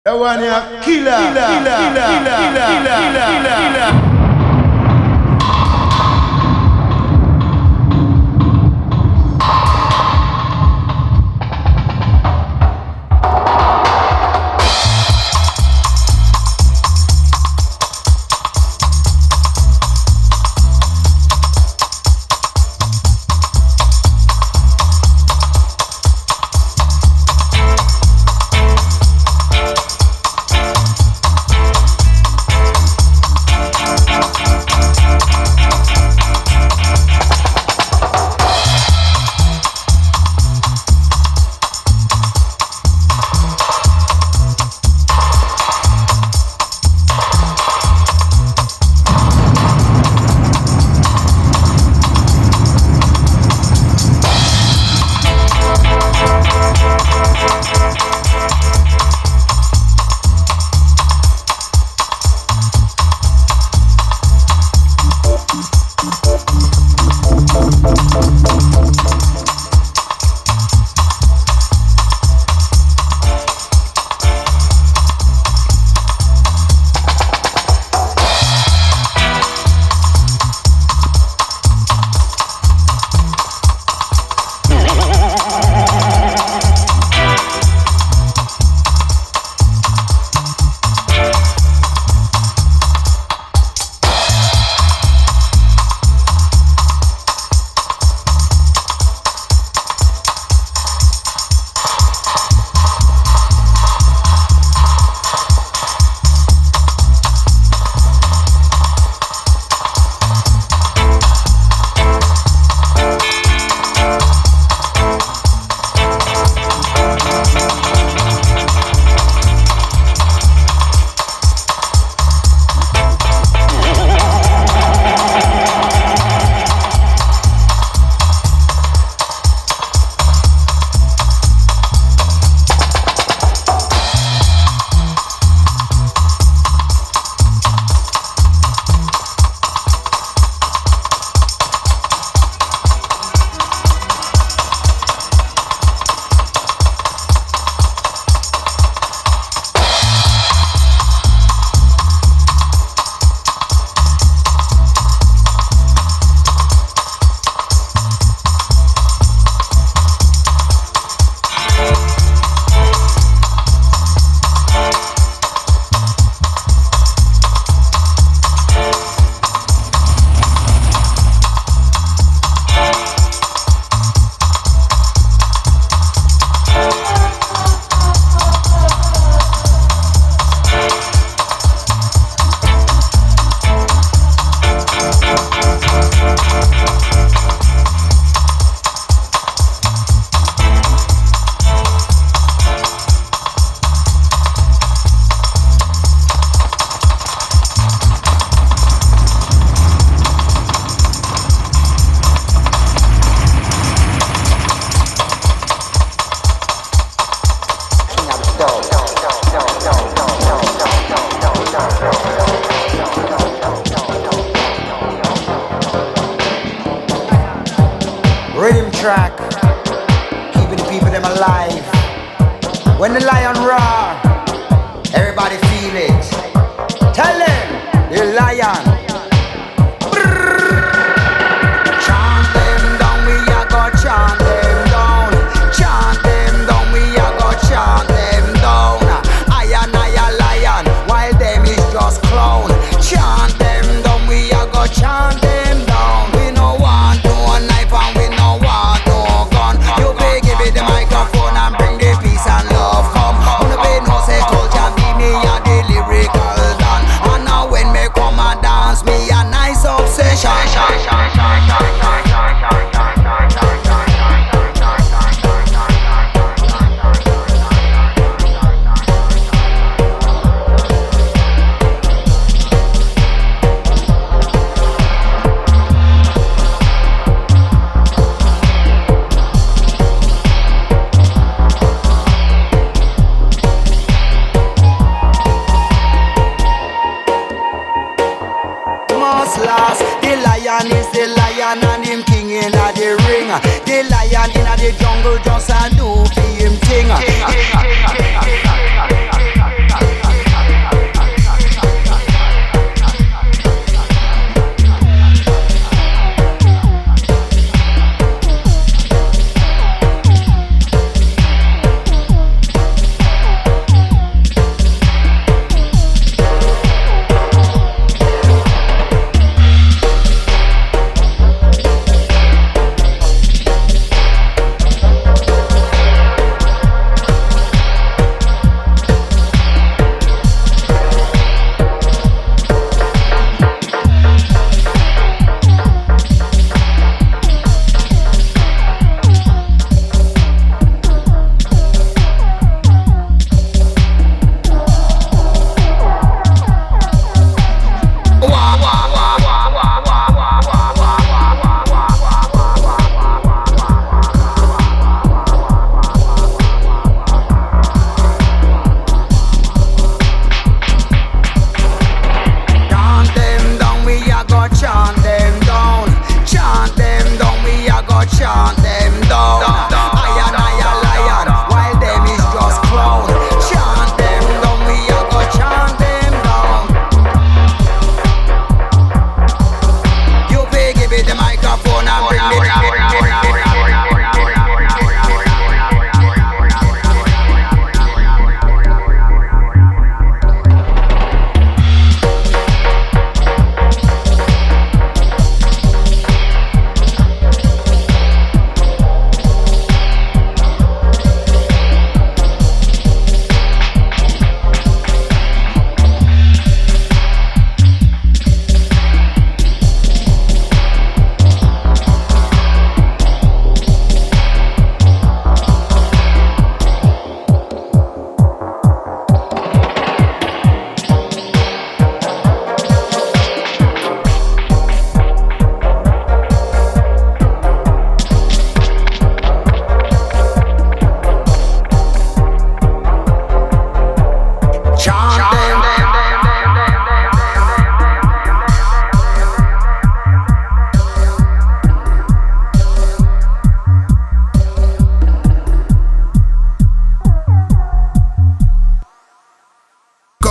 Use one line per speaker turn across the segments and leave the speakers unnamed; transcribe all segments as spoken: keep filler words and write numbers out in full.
That one here, killer, killer, killer, killer, killer, killer, killer.
Rhythm track, keeping the people them alive. When the lion roar, everybody feel it. Tell them, the lion. Brrr. Chant them down, we a go chant them down. Chant them down, we a go chant them down. I and I a lion, while them is just clown. Chant them down, we a go chant them down. We no want no knife and we no want no gun. You pay, give it the microphone and bring the peace and love come. On the bed no say culture be me a the lyrical done. And now when me come and dance, me a nice obsession. Last. The lion is the lion and him king in a the ring. The lion in a the jungle just a do for him thing.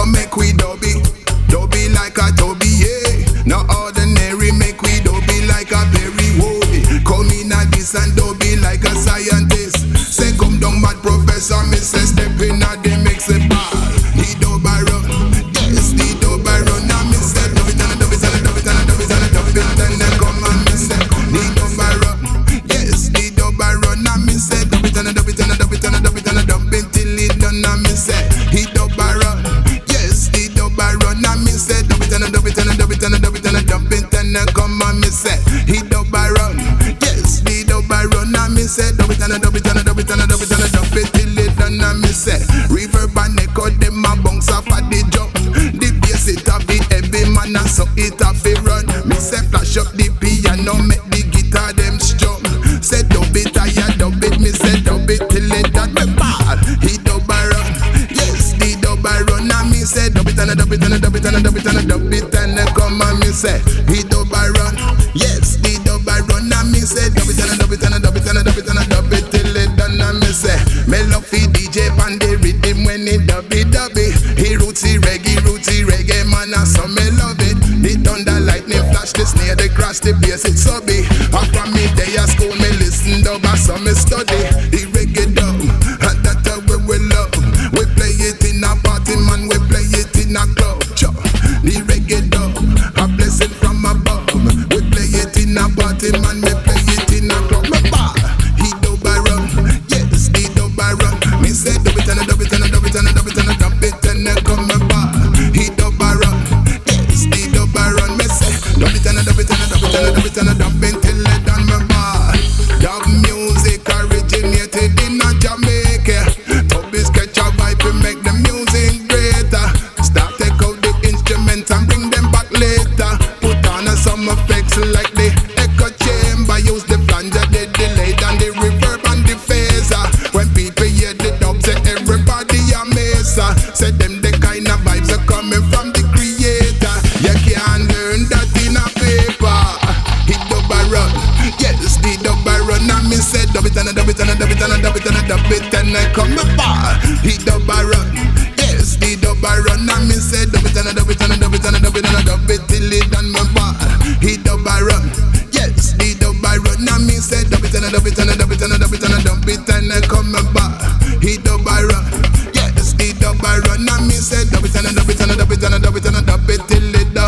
come make we dubby, dubby like a Toby, yeah. No ordinary, make we dubby like a Perry Wobby. Come in a this and dubby like a scientist. Say come down mad professor, me say step in a the mix it ball. The dub I run, yes, the dub I run. And me say dub it and a dub it and a dub it and a dub it and a dub it. Then they come and me say the dub I run, yes, the dub I run. And me say dub it and a dub it and a dub it and a dub it and a dub it till it done. And me say he dub I run, yes, the dub I run. And me say dub it and a dub it and a dub it and a dub it and a dub it. Then they come and me say he dub I run, yes, the dub I run. And me say dub it and a dub it and a dub it and a dub it and a dub it till it done. And me say reverb and echo them a bounce off at the jump. The bass it a beat heavy man and so it a fi run. Me say flash up the piano make the guitar them strum. Say dub it I ya dub it, me say dub it till it done. Me bad, he dub I run, yes the dub I run. And me say dub it and a dub it and a dub it and a dub it and a dub it. And they come and me say he dub I run, yes the dub I run. And me say dub it and a dub it and a dub it and a dub it and a dub it till it done. And me say me love fi D J pan the rhythm when he dubby dubby. He rootsy reggae, rootsy reggae man and so me love it. The thunder lightning flash, the snare, the crash, the bass it subby. And from me day at school me listen dub and so me study the reggae dub. And that's how we we love. We play it in a party man, we play it in a club. Cho. The reggae dub, a blessing from above. We play it in a party man, we play it in a club. Me bad, he dub I run, yes the dub I run. Me say dub it and a dub it and a dub it and a dub it and a dub it and then come me bad. He dub I run, yes the dub I run. Me say dub it and a dub it and a dub it and a dub it and a dub it till it done me bad. Dub music originated in a Jamaica. Tubby sketch a vibe to make the music greater. Start take out the instruments and bring them back later. Put on a some effects like the echo chamber. Use the flanger, the delay and the reverb and the phaser. When people hear the dub, say everybody a mesa. Say them the kind of vibes are coming from the creator. You can't learn that in a paper. He dub I run, yes the dub I run. And me say dub it and a dub it and a dub it and a dub it and a dub it and I come back. He dub I run, yes the dub I run. And me say dub it and a dub it and a dub it and a dub it and a dub it till it done me bad. He dub I run, yes the dub I run. And me say dub it and a dub it and a dub it and a dub it and a dub it and I come back. He dub I run, yes the dub I run. And me say dub it and a dub it and a dub it and a dub it and a dub it till it done.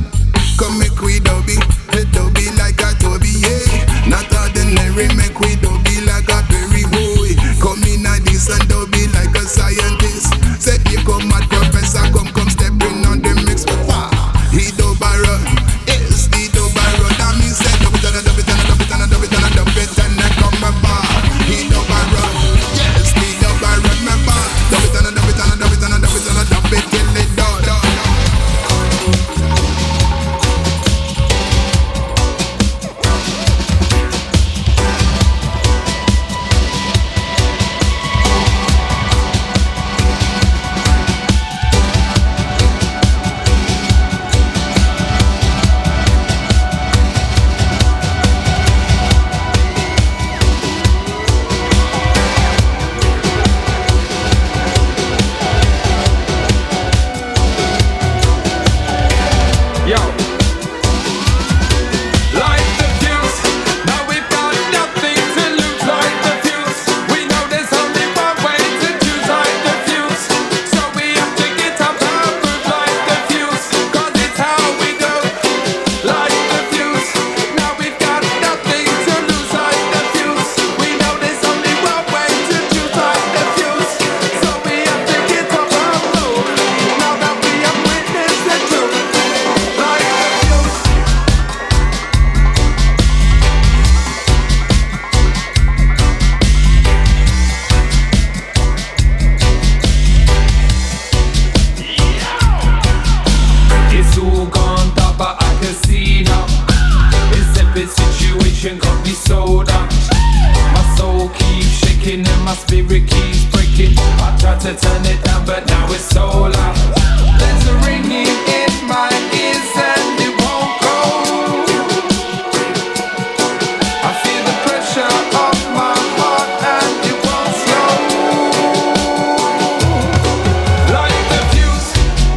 Come make we dubby, dubby like a Toby, yeah. Not ordinary, make we dubby like a Perry Boy. Come in a this and dubby like a scientist. Say you come mad professor, come come step in on the mix for far. He dub I run, yes the dub I run. And me say dub it and a dub it and a dub it and a dub it and a dub it and I come my bar. He dub I run, yes the dub I run my bar. Dub it and a dub it and a dub it and a dub it and a dub it till it done.
To turn it down, but now it's so loud. There's a ringing in my ears and it won't go. I feel the pressure of my heart and it won't slow. Like the fuse,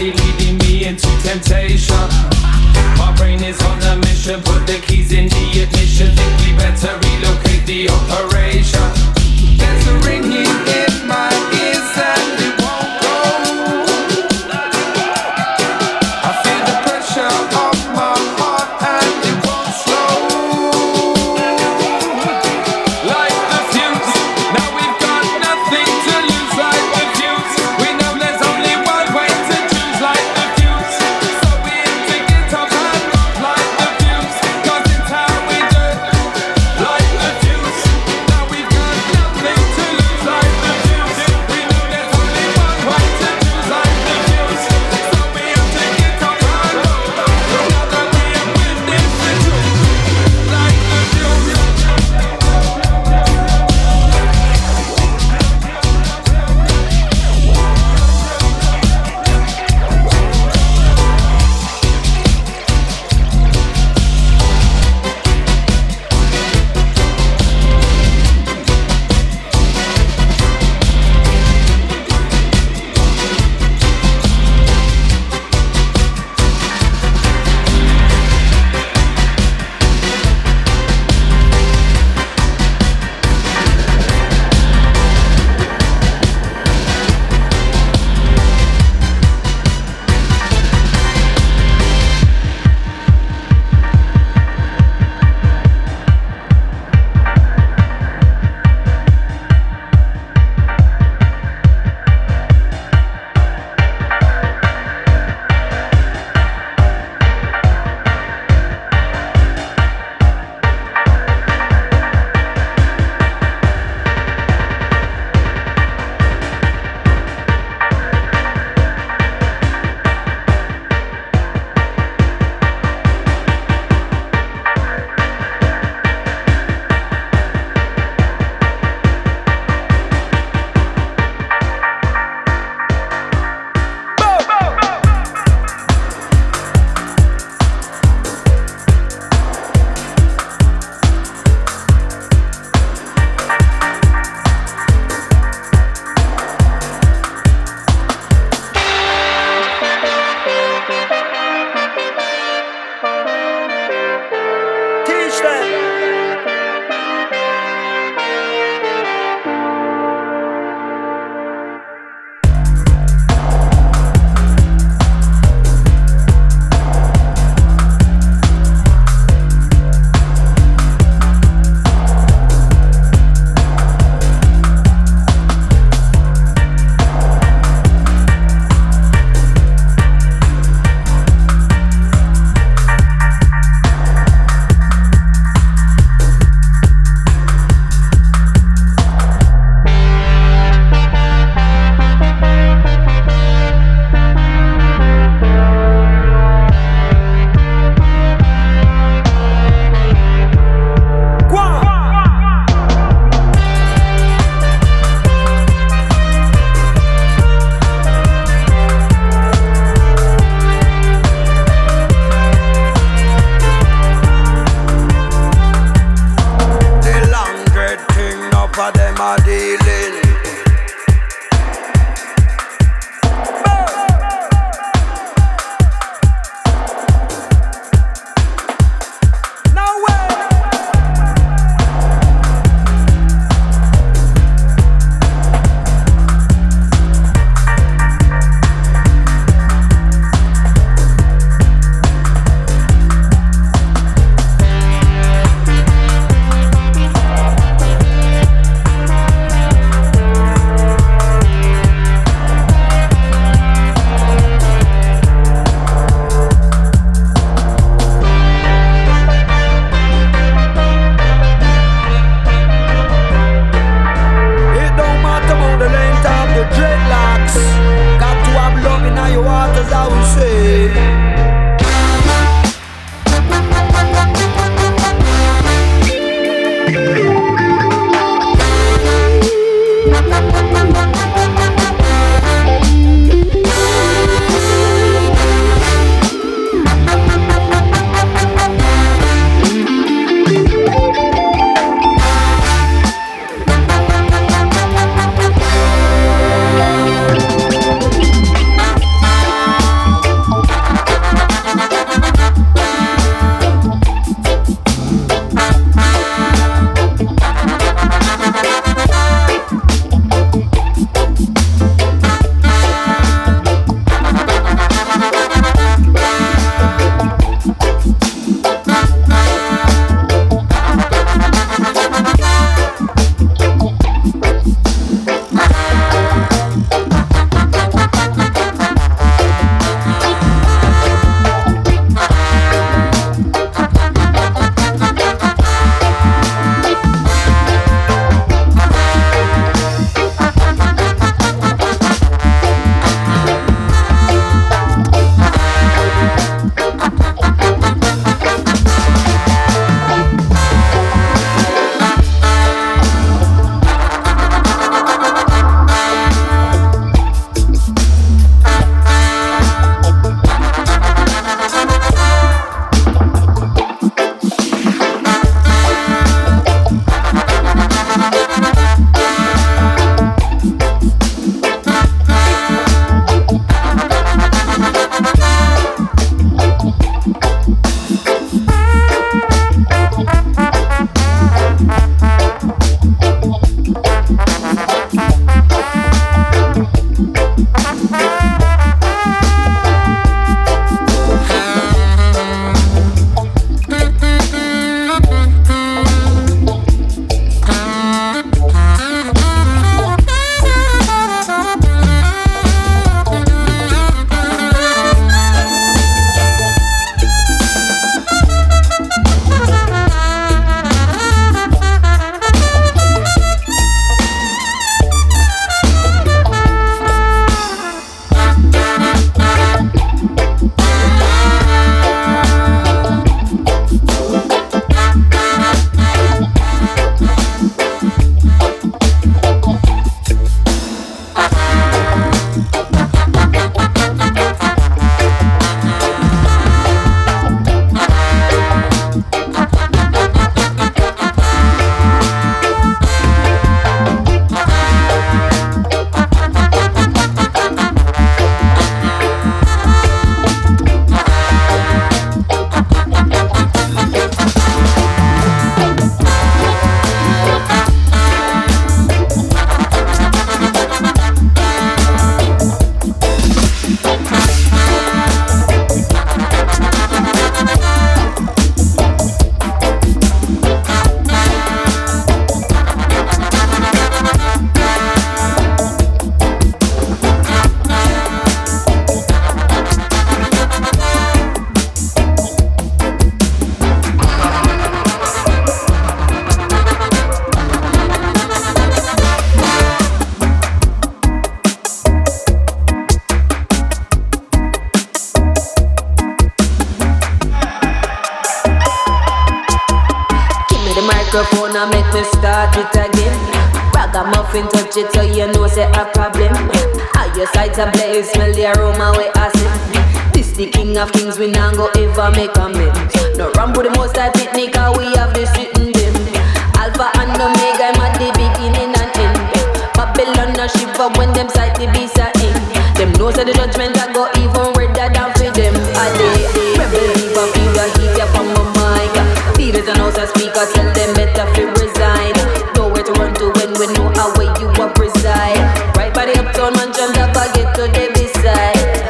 constantly leading me into temptation. My brain is on a mission, put the keys in the ignition. Think we better relocate the operation. There's a ringing in my ears and it won't go. I feel the pressure of my heart and it won't slow. Like the fuse, now we've got nothing to lose. Like the fuse, we know there's only one way to choose. Like the fuse, so we have to get up and move. Like the fuse, cause it's how we do. Like the fuse, now we've got nothing to lose. Like the fuse, we know there's only one way to choose. Like the fuse, so we have to get up and move. Now that we have witnessed the truth. Like the fuse.
Teach them. The long dread thing, now for them are dealing. No way. It don't matter about the length of the dreadlocks. Got to have love in your heart, as I will say.
microphone and make me start it again. Ragamuffin touch it so you know say a problem. How your sides a blaze, smell the aroma we acid. This the king of kings, we not go ever make amends. No run with the most I picnic, we have the sitting them. Alpha and Omega, I'm at the beginning and end. Babylon a shiver when them sight the beast are in. Them know say the judgment I go even redder than for them. A day, rebel fever, feel the heat up on my mic. Feed it and also speaker, tell them better fi resign. Nowhere to run to when we know how way you a preside. Right by the uptown mansion, top I get to the beside.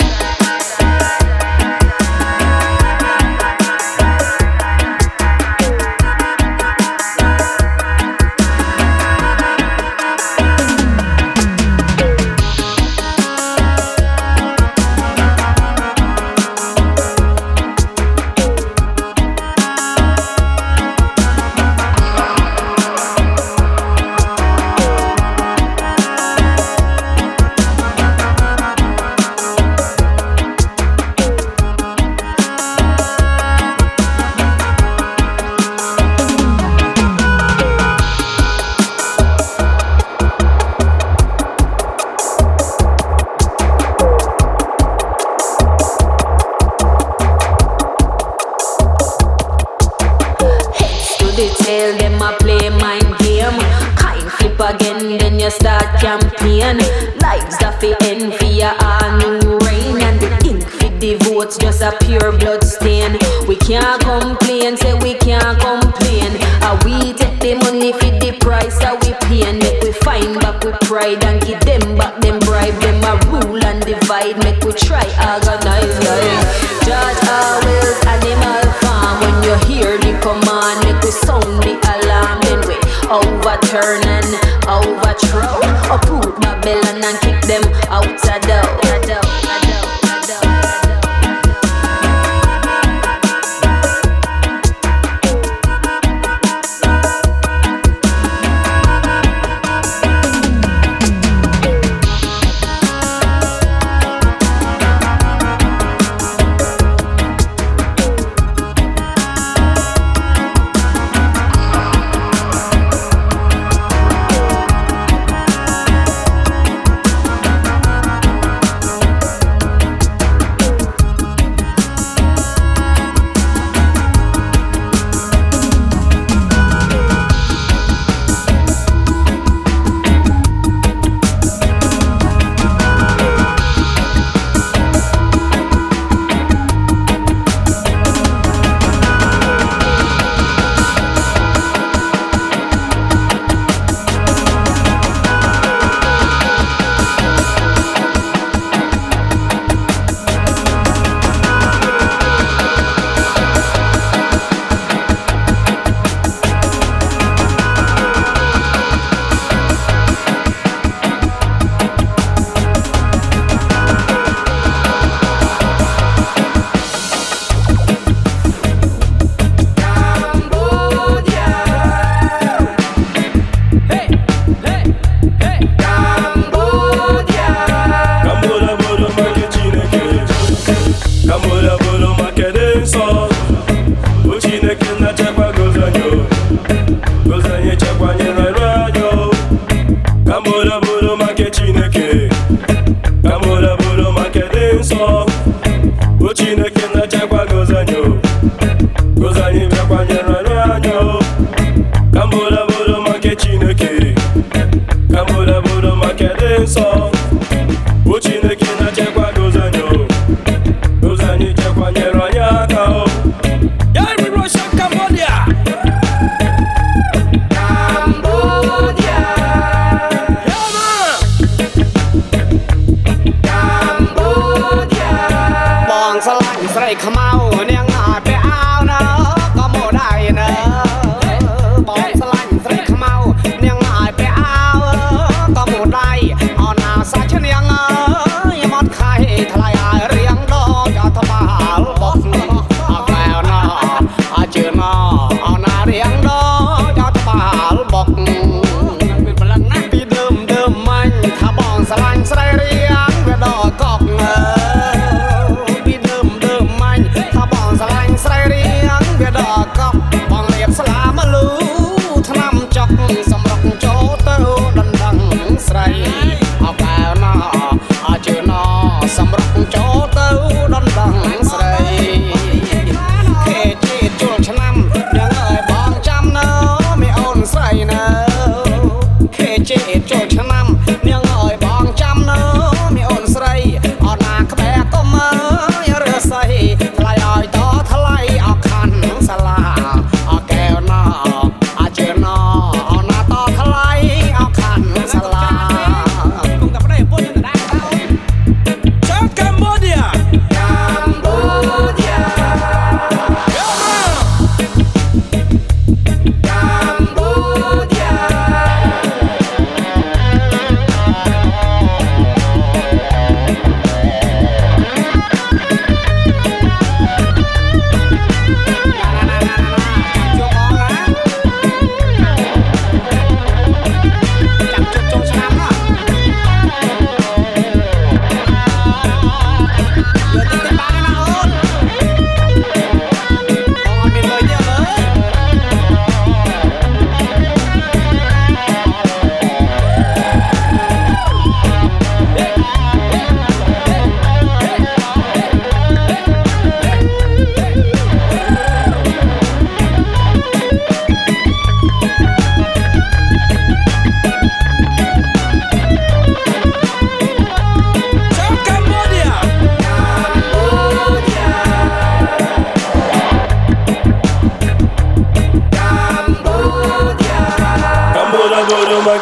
Tell them I play mind game. Kind flip again, then you start campaign. Lives that fi end for your all new reign. And the ink for the votes just a pure blood stain. We can't complain, say we can't complain. And we take the money for the price that we pay. Make we find back with pride and give them back them bribe. Them a rule and divide, make we try organize life. Judge always animal farm. When you hear the command, make we sound the alarm. Then we overturn and overthrow. Uproot Babylon and kick them out the door.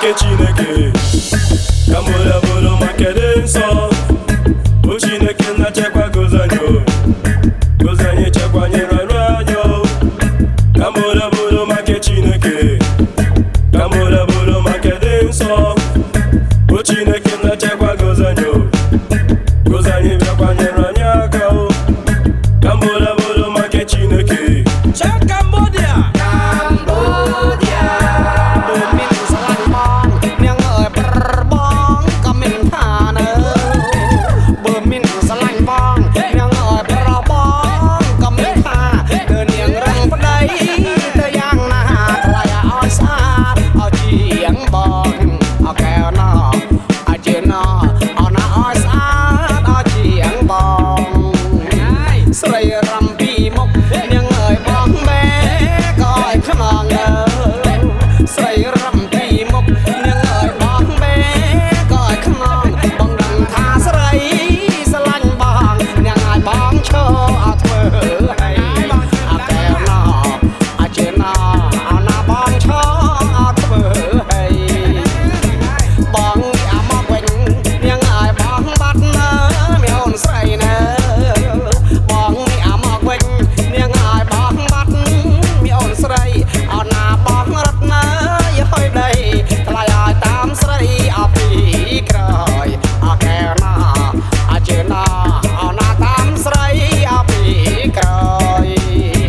make Chineke. Kambola bolo make denso. O Chineke na chekwa gozanyo. Gozanye chekwa nyeranyo. Kambola bolo make Chineke. Kambola bolo make denso. O Chineke na chekwa gozanyo. Gozanye chekwa nyeranyo. Kambola bolo make Chineke.
Check Cambodia. Cambodia. Min salan bong, miang ơi per bong, kamin than ơi. Min salan bong, miang ơi per bong, kamin than. Đưa niềng răng bên đây, tới giang na, lại oi xa, oi chiang bong, oi keo nó, oi chưa nó, oi na oi xa, oi chiang bong. Sợi rầm pi mốc, miang ơi bong bé, coi khăn nòng ơi. Sợi rầm pi mốc, miang ơi bong bé, coi khăn nòng. Bong đằng tha sợi, salan bong, miang ơi bong cho thơ hay. À keo nó, à chưa nó, à na bong cho thơ hay. Bong à mọc quanh, miang ơi bong bắt nơ, miêu sợi nơ. Bong à mọc quanh, miang ơi bong bắt miêu sợi. À na bong rất nơ, hơi đây, lại ai tam sợi à pi cày. À keo nó, à chưa nó, à na tam sợi à pi cày.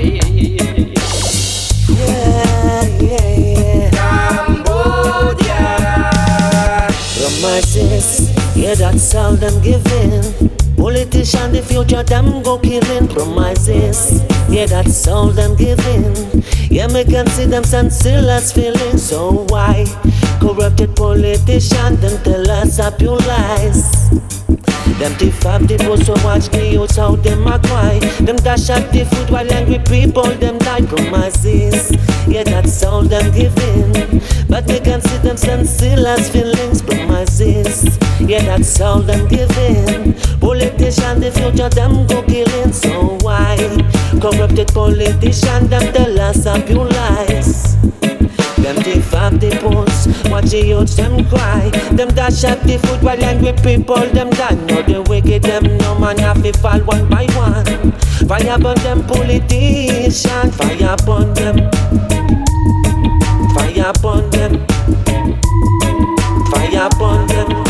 Yeah, yeah, yeah. Cambodia.
Promises, yeah, that's all them giving. Politician, the future, them go killing. Promises, yeah, that's all them giving. Yeah, me can see them senseless feelings. So why corrupted politician, them tell us up your lies? Them thief up the post, so watch the youths how them a cry. Them dash up the food while angry people, them die. Promises, yeah, that's all them giving. But me can see them senseless feelings. Promises, yeah, that's all them giving. Politician, the future, them go killing. So why corrupted politician, them tell us up your lies? Them thief up the post, watch the youths them cry. Them dash up the food while angry people them die. No the wicked them, no man have to fall one by one. Fire burn them politicians, fire burn them. Fire burn them. Fire burn them.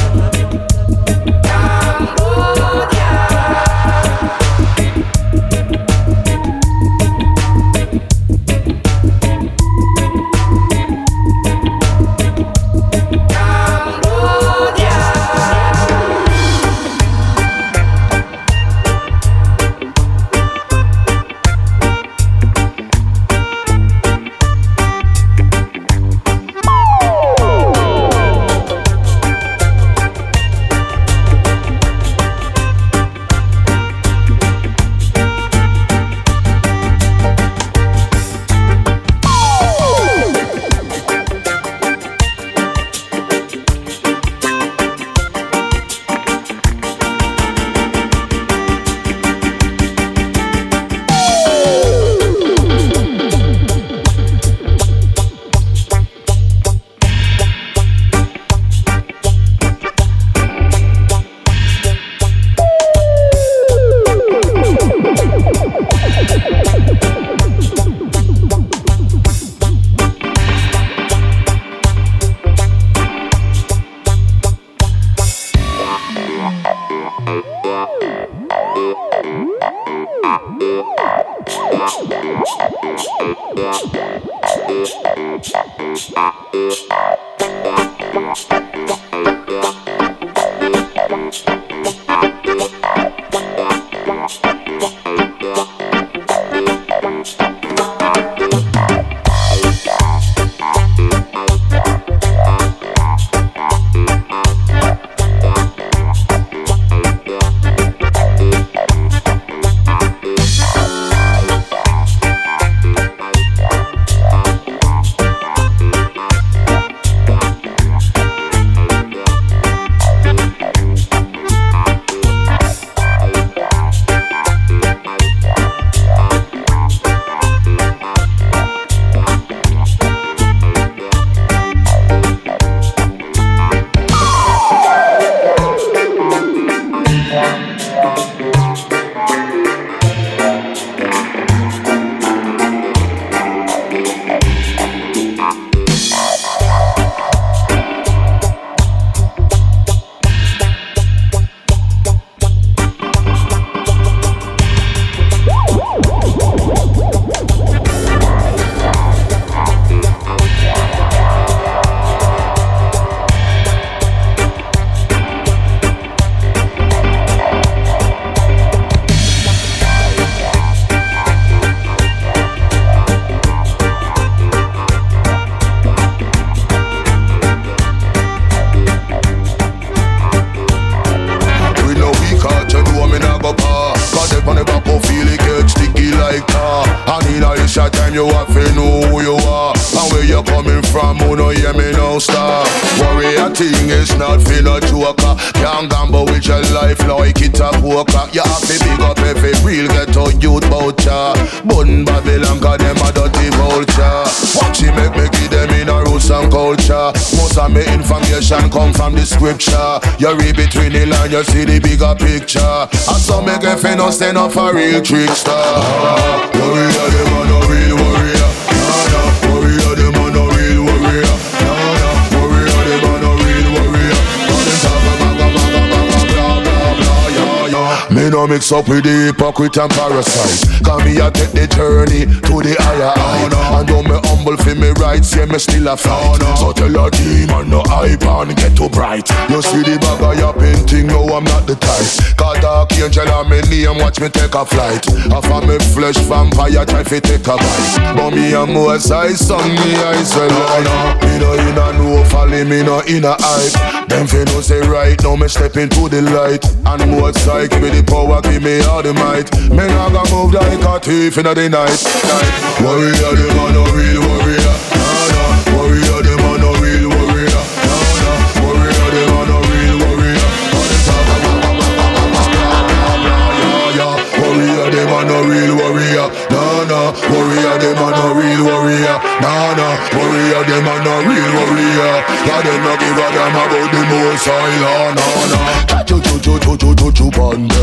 me not go par. Cause if I never go feel it get sticky like tar. And in a short time you have to know who you are and where you coming from, who no hear me no star. Warrior thing is not for no joker. Can't gamble with your life like it a poker. You have to big up every real ghetto youth voucher. Bun Babylon cause them a dirty vulture. Watch it make me give them in a roots and culture. Most of me information come from the scripture. You read between the lines, you see the bigger picture. And some make a fin no stand up for real trickster. Ah, warrior, them a no real warrior. Nah, nah, warrior, them a no real warrior. Nah, nah, warrior, them a no real warrior. All them talk about blah blah blah blah blah blah, yeah, yeah. Me no mix up with the hypocrite and parasite. Cause me a take the journey to the higher height. And though me humble for me rights, yeah me still a fight. So tell a demon no hype and get too bright. You see the bag of your painting, no I'm not the type. Cause dark angel and me name, watch me take a flight. Half of me flesh vampire try fi take a bite. But me a more size song, me I say no, no. Me no in a no folly, me no in a hype. Them fi no say right, now me step into the light. And more psych, give me the power, give me all the might. Me nah go move like a thief in the night. Warrior, them a no real warrior. Nah, nah. Warrior, them a no real warrior. Nah, nah. Warrior, them a no real warrior. All them talk about blah blah blah blah blah blah, yeah, yeah. Warrior, them a no real warrior. Nah, nah. Warrior, them a no real warrior. Nah, nah. Warrior, them a no real warrior. Cause them no give a damn about the most high law. Nah, nah. Cho cho cho cho cho cho cho bande.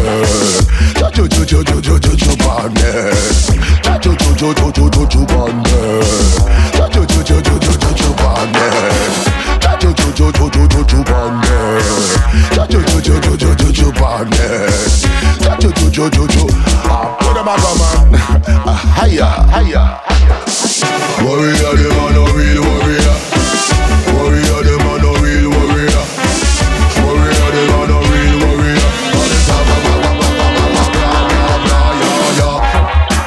Cho cho cho cho cho cho cho cho bande. Cho cho cho cho cho cho cho bande. Cho cho cho cho cho cho cho cho bande. Cho cho cho cho cho cho cho bande. Cho cho cho cho cho cho cho cho bande. Cho cho cho cho cho. Ah, put them up, man. Hiya, hiya. Warrior, them a no real warrior. Warrior, them a no real warrior. Warrior, them a no real warrior. All the time, blah blah blah blah blah blah blah, yeah, yeah.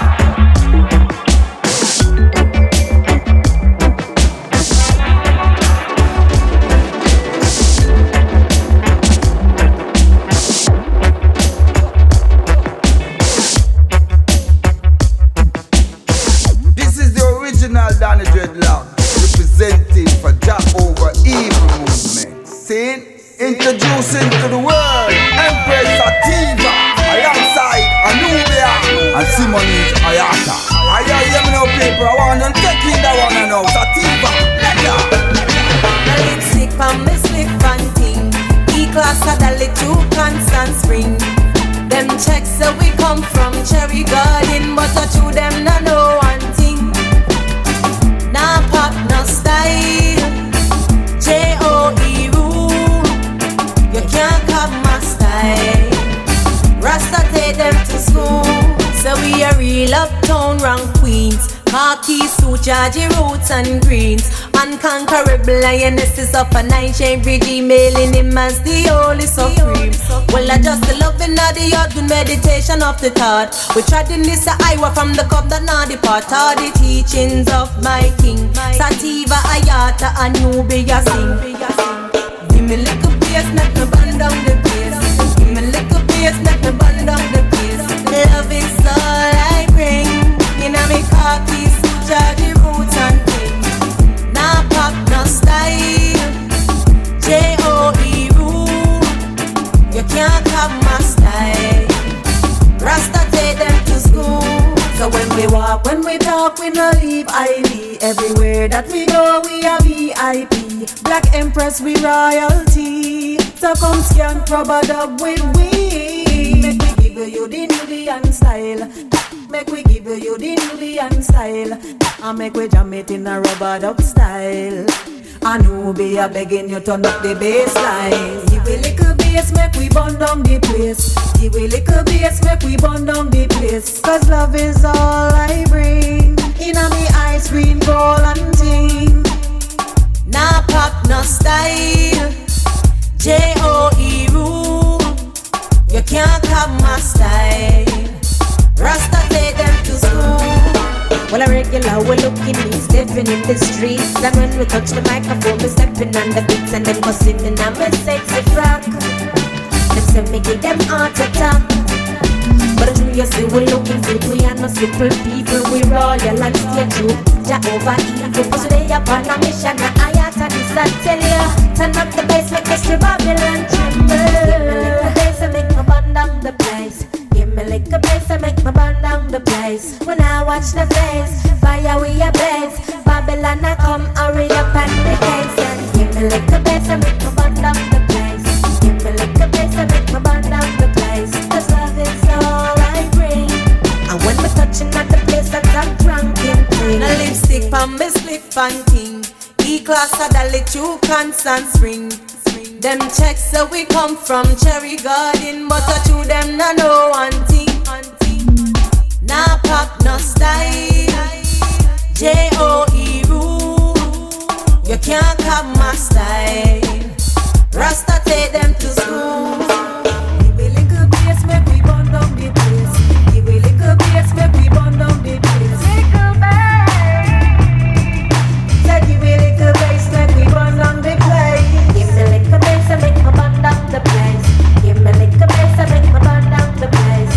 This is the original Danny Dreadlock, representing for Jack Over Evil movement. See? Introducing to the world Empress Sativa alongside Anubia and Simonis Ayata. I hear me now, people. I want them taking that one and now. Sativa, let ya.
My lipstick on me slip and ting. E-class a dolly two constant spring. Them checks say we come from Cherry Garden, but I chew them no know one thing. Nah pop, no style. J O E rule. You can't cop my style. Rasta take them to school. So we a real uptown rank queens. Khaki suit, Georgie roots and greens. Unconquerable lionesses of a nine-chain regime, mailing him as the holy supreme. Well, I just love in the yard, good meditation of the thought. We tried in this Iowa from the cup that now depart. All the teachings of my king, Sativa, Ayata, Anubia sing. Give me little bass, let me burn down the place. Give me little bass, let me burn down the place. Love is all I bring. In a me khaki suit, Georgie roots and things. Nah pop, no style. J O E rule. You can't have my style. Rasta take them to school. So when we walk, when we talk, we no leave I V. Everywhere that we go, we are V I P. Black Empress, we royalty. So come scan, rubber dub with we. Make we give you the Nubian style. Make we give you the Nubian style. And make we jam it in a rubber dub style. Anubia begging you turn up the bassline. Give a little bass, make we burn down the place. Give a little bass, make we burn down the place. Cause love is all I bring. In a me ice cream, gold and ting. Nah pop, no style. J O E rule. You can't have my style. Rasta take them to school. Well, a regular, we're looking me stepping in the streets. And when we touch the microphone, we're stepping on the beats. And them go sitting on my sexy frock. Them say me give them heart attack.
you see we looking good, we are no simple people. We royal and stay true, Jehovah evil. Cause they up on a mission, and I had to this I tell you. Turn up the bass, make us Babylon tremble. Give me the bass and make me burn down the place. Give me like a bass and make me burn down the place. When I watch the face, fire we a blaze. Babylon I come, hurry up and the gates. And give me like a bass and make me burn down the place. Give me like a bass and make me burn down the place. Cause love is all I bring. And when we're touching at the place that I'm drunk in thing.
A lipstick on me slip and king. E-class a dolly two constant spring. Them checks so we come from Cherry Garden, but I to them no know one thing. Nah pop no style, J O E rule. You can't have my style. Rasta take them to school.
Give a little bass, make we burn down the place. Give a little bass, make we burn down the place. Little bass. Say give a little bass, make we burn down the place. Give me little bass and make me burn down the place. Give me little bass and make me burn down the place.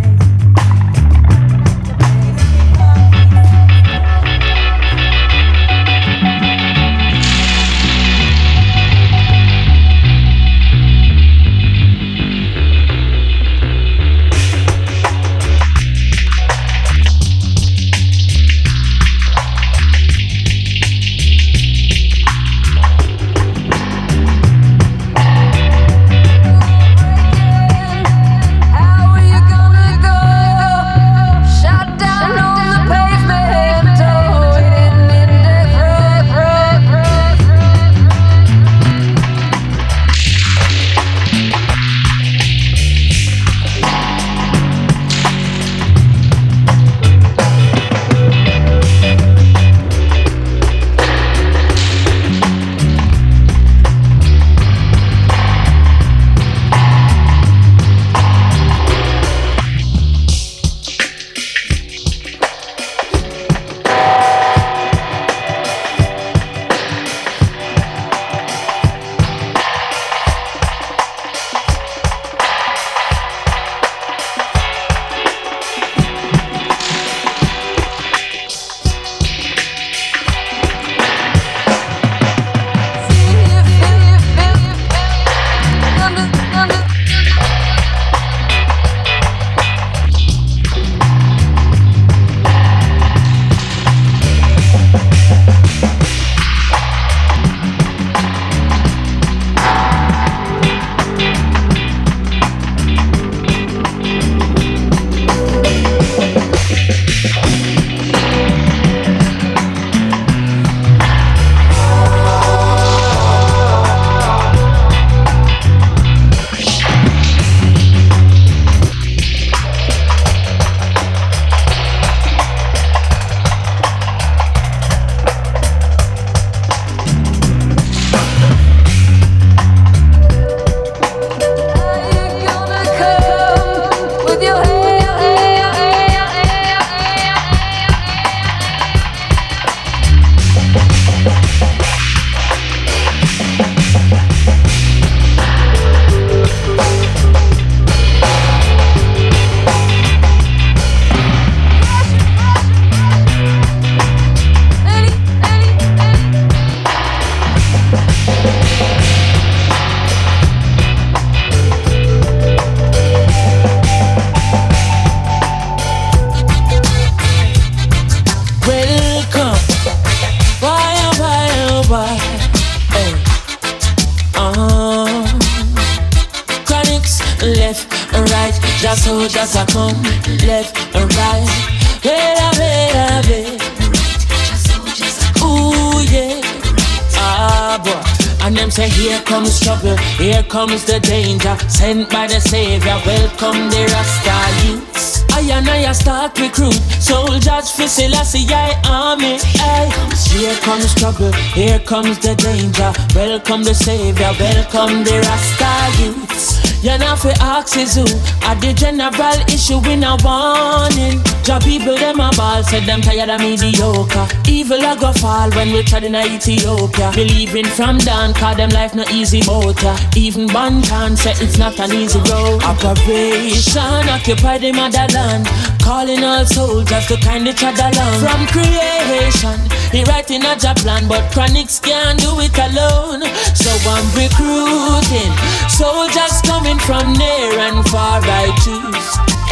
Just soldiers a come, left and right. Wait a minute, wait. Ooh yeah. Ah boy. And them say here comes trouble, here comes the danger. Sent by the Savior, welcome the Rasta youths. I and I start recruit soldiers for Selassie I army. Ay. Here comes trouble, here comes the danger. Welcome the Savior, welcome the Rasta youths.
You know fi ask is who at the general issue in a warning. Job people them a ball, said them tired of mediocre. Evil a go fall when we tried in Ethiopia. Believing from down, cause them life no easy boat ya. Even Bantan said it's not an easy road. Operation occupy the motherland, calling all soldiers to kind each other along. From creation, he writing a job plan, but chronics can't do it alone. So I'm recruiting soldiers coming from near and far. I choose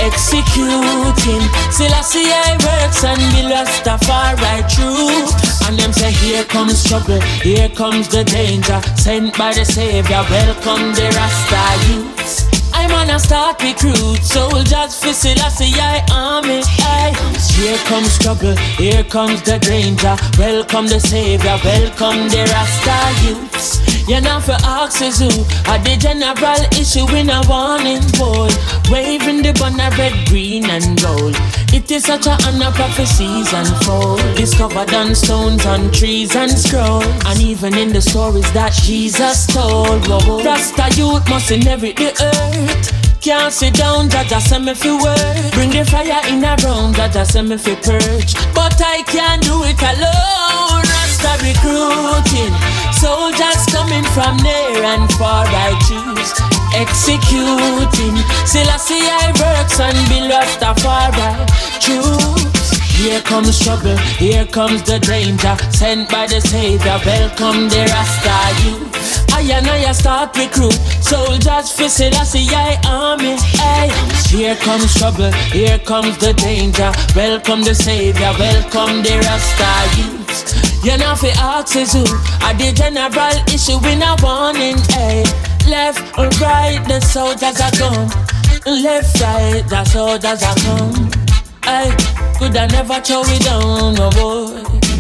executing Selassie I works and the Rastafari true. And them say here comes trouble, here comes the danger, sent by the Savior, welcome the Rasta youths. I'm on a start recruit soldiers for Selassie I army. Aye. Here comes trouble, here comes the danger, welcome the Savior, welcome the Rasta youths. You know for axes who are the general issue in a warning boy. Waving the banner red, green and gold. It is such a honor prophecies unfold. Discovered on stones, on trees and scrolls. And even in the stories that Jesus told. Whoa. Rasta youth must inherit the earth. Can't sit down, Jaja send me fi work. Bring the fire in a round, Jaja send me fi purge. But I can't do it alone. Rasta recruiting soldiers coming from near and far. I choose executing Selassie I works and be Rastafari choose. Here comes trouble, here comes the danger, sent by the Savior, welcome the Rasta youth. I and I start recruit soldiers for Selassie I army. Ay. Here comes trouble, here comes the danger, welcome the Savior, welcome the Rasta youth. You know fi axes who are the general issue in a warning. Ay. Left or right, the soldiers are come. Left, right, the soldiers are come. Ay, could I never throw it down, no boy.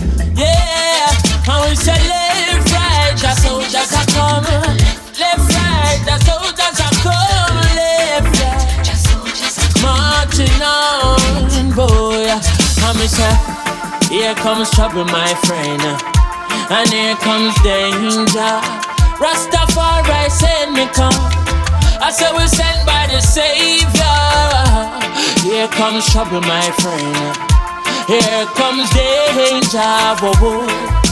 Yeah, I will say left, right, the soldiers are come. Left, right, the soldiers are come. Left, right, the soldiers are come. Marching on, boy. I me say, here comes trouble, my friend, and here comes danger. Rastafari send me come. I said we're sent by the Savior. Here comes trouble, my friend. Here comes danger. Whoa, whoa.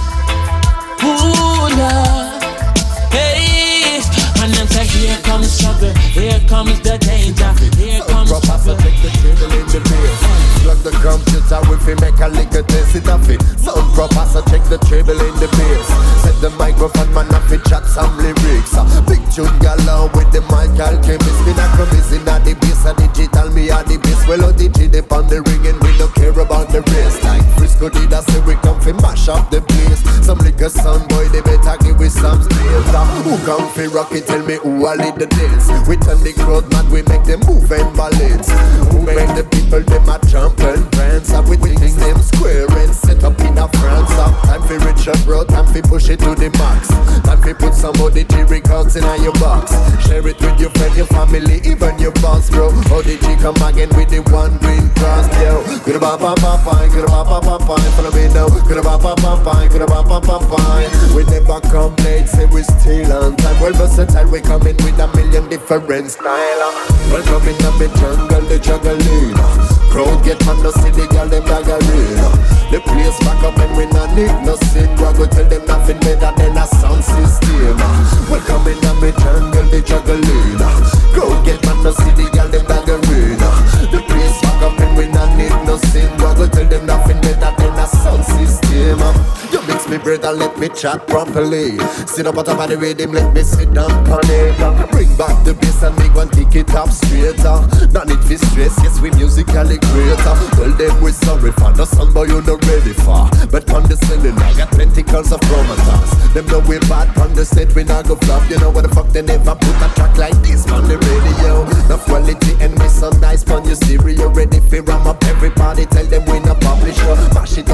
Ooh, Lord. Hey, and then say here comes trouble. Here comes the danger. Here comes trouble.
Take the table in the beer. Plug the computer if we make a lick of this, it a fit. Sound proper, so check the treble in the bass. Set the microphone, man, if we chat some lyrics. Big tune galore with the mic alchemist. Me not promise in the bass, a digital, me a the bass. Well, O D G dip on the ring and we don't care about the rest. Like Frisco did, I say we come fi mash up the place. Some liquor sound boy, they better give with some skills. Who come fi rock it, tell me who a lead the dance. We turn the crowd mad, we make them move and balance. Who make the people, them a jump and prance. And we think them square and set up in a France. Time fi reach up road, time fi push it to the max. Time fi put some O D G records in your box. Share it with your friend, your family, even your boss, bro. O D G come again with the one green cross, yo. Good ba ba ba ba, good ba ba ba ba. Follow me now. Good ba ba ba ba, good ba ba ba ba. We never come late, say we still on time. Well versatile, we come in with a million different style. Welcome in the jungle, the juggling. Crowd get man, no see the girl, them daggering. The place back up and we not need no sin. We go tell them nothing better than a sound system. Welcome in the jungle, the juggling. Crowd get man, no see the girl, them daggering. The place back up and we not need no sin. We go tell them nothing better than a sound system. You mix me bread and let me chat properly. Sit up on top of the rhythm, let me sit down on it. Bring back the bass and make one kick it up straighter. Not need for stress, yes we musically greater. Well then we sorry for the song boy you not ready for. But condescending I got tentacles of promoters. Them know we bad on the set we not go flop. You know what the fuck they never put a track like this on the radio. The quality and we so nice on your stereo. Ready for ram up everybody, tell them we not publisher. Mash it over your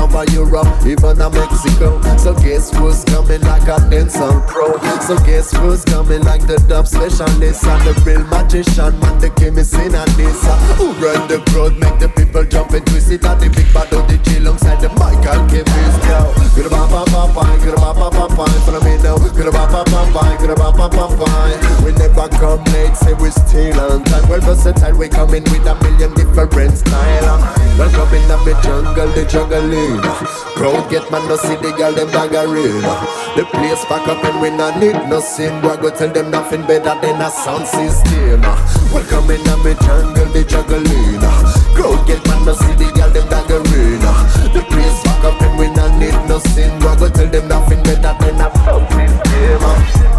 Europe, even a Mexico. So guess who's coming like a dancehall pro? So guess who's coming like the dub specialist and the real magician, man, the chemist in a this. Who run the crowd, make the people jump and twist it. And the big bad of the G alongside the Michael chemist. Go, get a bop bop bop bop, get a bop bop bop bop. Follow me now, get a bop bop bop bop, get a bop bop bop bop. We never come late, say we still on time. Well versatile, we come in with a million different style. Welcome in the jungle, the juggling. Crowd get man, no see the girl, them daggering. The place back up and we not need no sin. We go tell them nothing better than a sound system. Welcome in the jungle, the juggling. Crowd get man, no see the girl, them daggering. The place back up and we not need no sin. We go tell them nothing better than a sound system.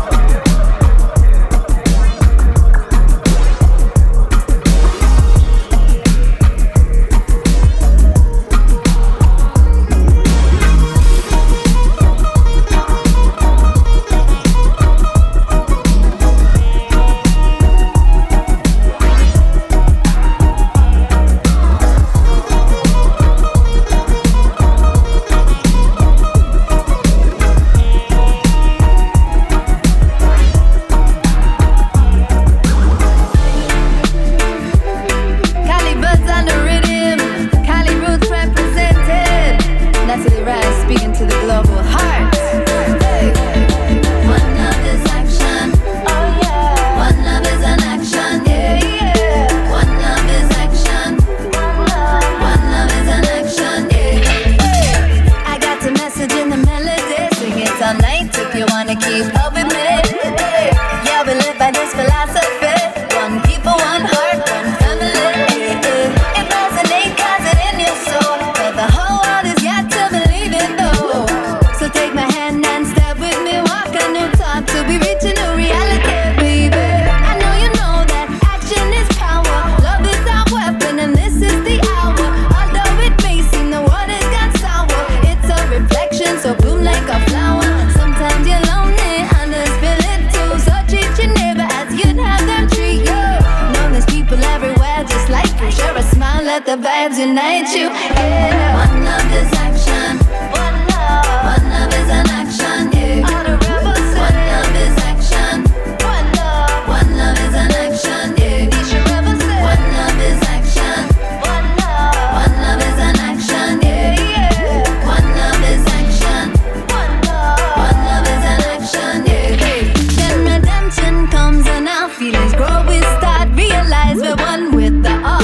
Let the vibes unite you. Yeah. One love is action. One love. One love is an action. Yeah. All the rebels say. One love is action. One love. One love is an action. Yeah. Each rebel say. One love is action. One love. One love is an action. Yeah. Yeah. One love is action. One love. One love is an action. Yeah. Then redemption comes and our feelings grow. We start realize we're one with the all.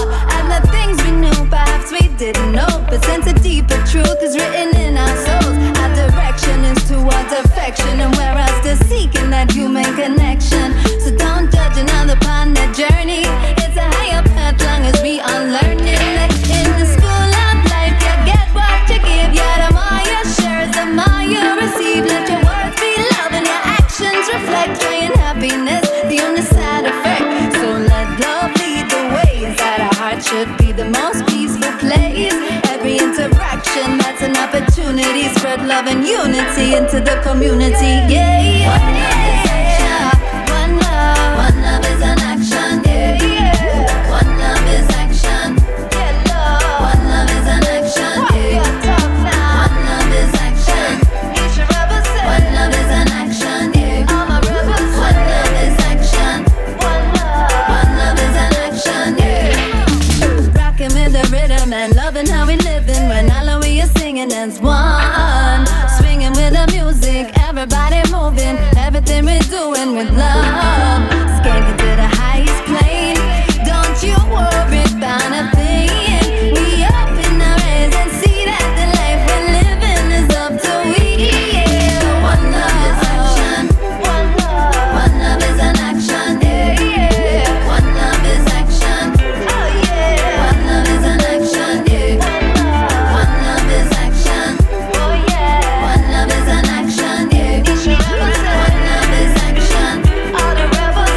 We didn't know, but since a deeper truth is written in our souls, our direction is towards affection, and we're all still seeking that human connection. So don't judge another upon that journey. It's a higher path, long as we are learning. In the school of life, you get what you give. Yeah, the more you share, the more you receive. Let your words be love and your actions reflect joy and happiness, the only side effect. So let love lead the way. Inside our heart should be the most peaceful place. Every interaction, that's an opportunity. Spread love and unity into the community. Yeah, yeah. One love, one love is an action. Yeah, yeah. One love is action. Yeah, love. One love is an action. Yeah. One love is action. Each rebel say. One love is an action. Yeah. All my rebels say. One love is action. One love. One love is an action. Yeah. Rocking with the rhythm and loving how we living when all of we are singing as one. Swinging with the music, everybody moving, everything we're doing with love. Skating to the highest plane. Don't you worry about a thing. We open our eyes and see that the life we're living is up to we. Yeah. One love is action. One love. One love is an action. Yeah, yeah. One love is action. Oh yeah. One love is an action. Yeah. One love is action. Oh yeah. One love is an action. Yeah. One love is action. All the rebels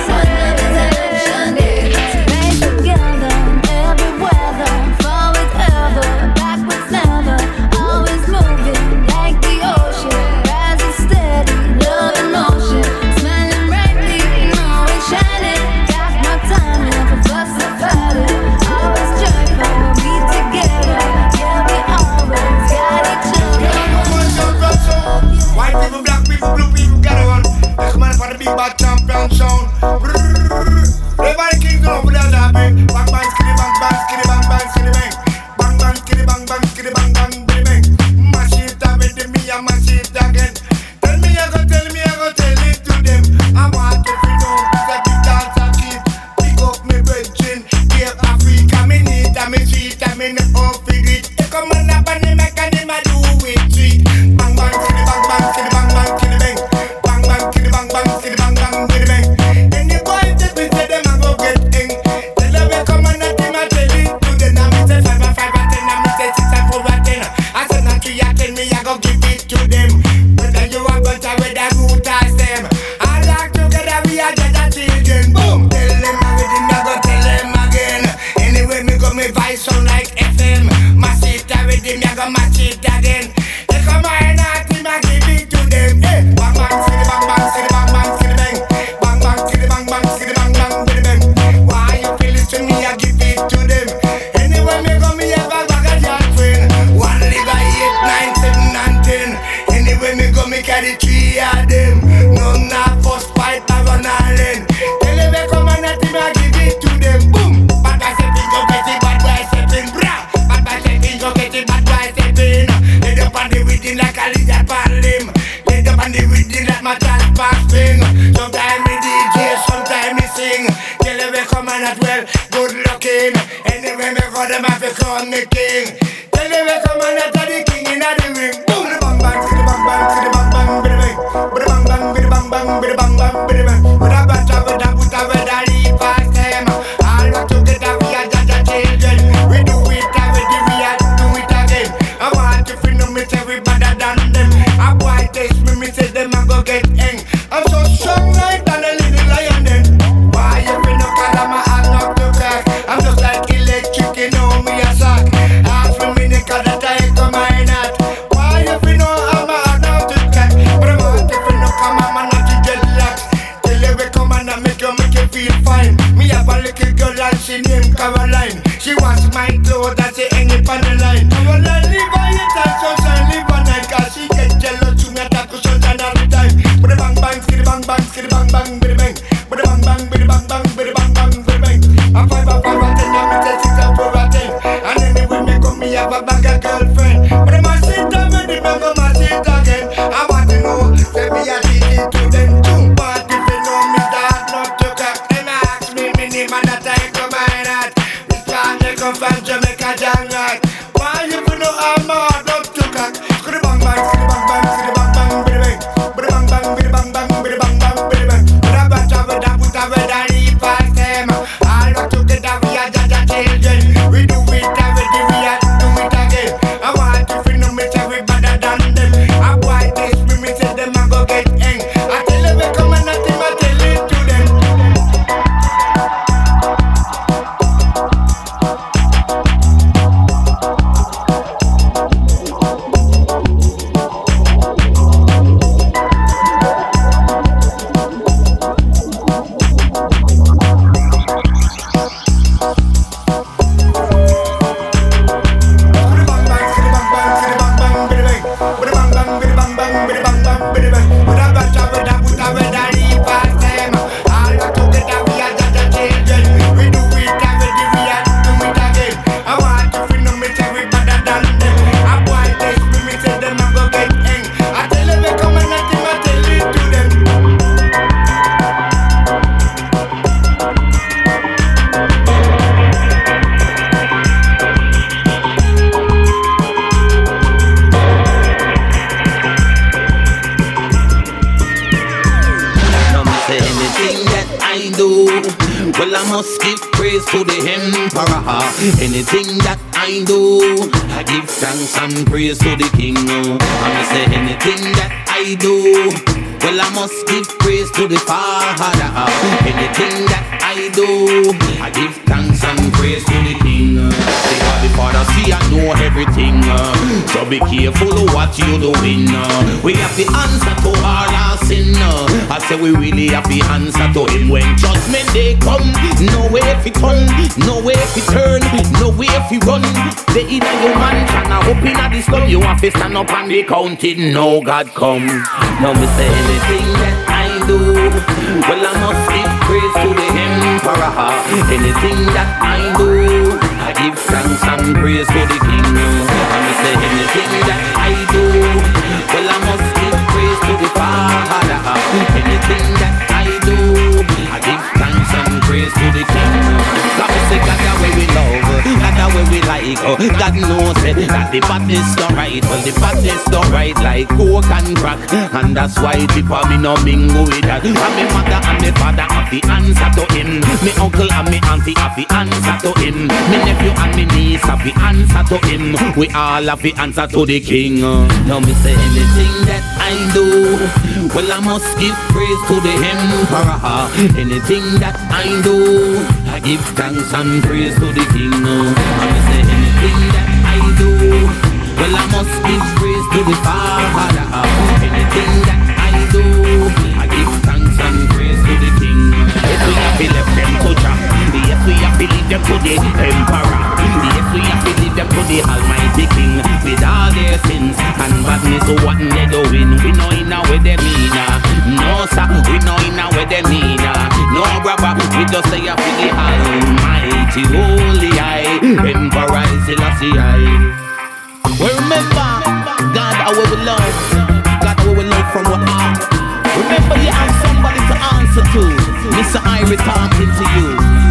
sound like F M. Mash it with him, ya go mash it again. They come my night, him I give it to them. Hey, bang bang, skiddy bang bang, skiddy bang bang, skiddy bang. Bang bang, skiddy bang bang, skiddy bang bang, skiddy bang. Why you feel it to me, I give it to them. Anyway, me go me have a bag of your friend. One live eight, nine, seven, and ten. Anyway, me go me carry three of them. None not first fight, I run all in. Tell them they come and not him, I give it to them. Boom, bad boy setting, go get it, bad boy setting, brah. Bad boy setting, go get it, bad boy setting. Let up on the within like a lizard pan limb. Let up on the within like my child pass thing. Sometimes me D J, sometimes me sing. Tell them they come and not well, good looking. Anyway, me go them have to crown me king. Tell them they come and not the king in the ring. Boom, the bang bang, the bang bang, the bang bang, bang bang, bang bang, bang bang, bang bang, bang bang. With a bat of a put a red a leaf past them. All work together, we are just a children. We do it already, we are do it again. I want to feel no me say we better than them. A boy taste me, me say them I go get hang. I'm so strong like that a little lion then. Why you feel no call I'm a hard knock to crack. I'm just like electric, you know me a sock. Ask me me the call that I come my not. Why you feel no I'm a hard knock to crack. But I want to feel no come I'm a not to dreadlocks. Tell you we come and I make you make you feel fine. Me have a little girl and she named Caroline. She wants my clothes and she hang it on the line. Caroline live by it and sunshine live by night. Cause she get jealous to me attack with sunshine all the time. But the bang bang, skiddy bang bang, skiddy bang bang, biddy bang. But the bang bang, biddy bang bang, biddy bang bang, biddy bang. A five a five a ten, a me say six a four a ten. And anyway me come me have a bag of girlfriend. But the man sit down with the bag of man sit again. I want to know, say me a teach it to them too. But if you know me that not to crack, then ask me me name and that I come my heart. This time they come from Jamaica, Jamaica. Why you know I'm a hard not to crack? Skiddy bang bang, skiddy bang bang, skiddy bang bang, biddy bang. Biddy bang bang, biddy bang bang, biddy bang bang, biddy bang. With a bunch of it, I put a red and leave past them. All work together, we are just a children. We do it already, we are do it again. I want to feel no me say we better than them. A boy taste me, me say them I go get hang. I tell them we come and nothing, I tell it to them.
Well, I must give praise to the emperor. Anything that I do, I give thanks and praise to the king. I say anything that I do, well, I must give praise to the Father. Anything that I do, I give thanks and praise to the king. Because the Father see and know everything. So be careful of what you doing. We have the answer to all our sin. I say we really have the answer to him. When judgment day come, no way if it turn, no way if it turn, no way if it run. They either your man can up in a this club. You have to stand up and be counted. No God come. Now me say anything that I do, well I must give praise to the emperor. Anything that I do, I give thanks and praise to the king. And me say anything that I do, well I must give praise to the Father. Anything that I do, I give thanks and praise to the king. God me say God the way we love, God the way we like. God knows that the badness don't right. Well the badness don't right like coke and crack. And that's why people me no mingle with that. And me mother and me father have the answer to him. Me uncle and me auntie have the answer to him. Me nephew and me niece have the answer to him. We all have the answer to the king. Now me say anything that I do, well I must give praise to the emperor. Anything that I do, I give thanks and praise to the king. And me say must give praise to the Father. Anything that I do, I give thanks and praise to the King. Yes, we have to left them to Jah. Yes, we have to leave them to the Emperor. Yes, we have to leave them to the Almighty King. With all their sins and badness, so what they doing? We know in a way they mean. No sir, we know in a way they mean. No brother, we just say up to the Almighty Holy Eye, Emperor Selassie I. Well, remember, God, how we will love, God, how we will love from our heart. Remember, you have somebody to answer to. Mister Irie talking to you.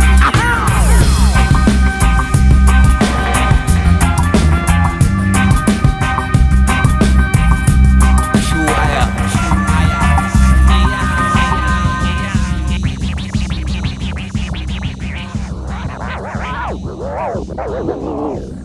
Wow.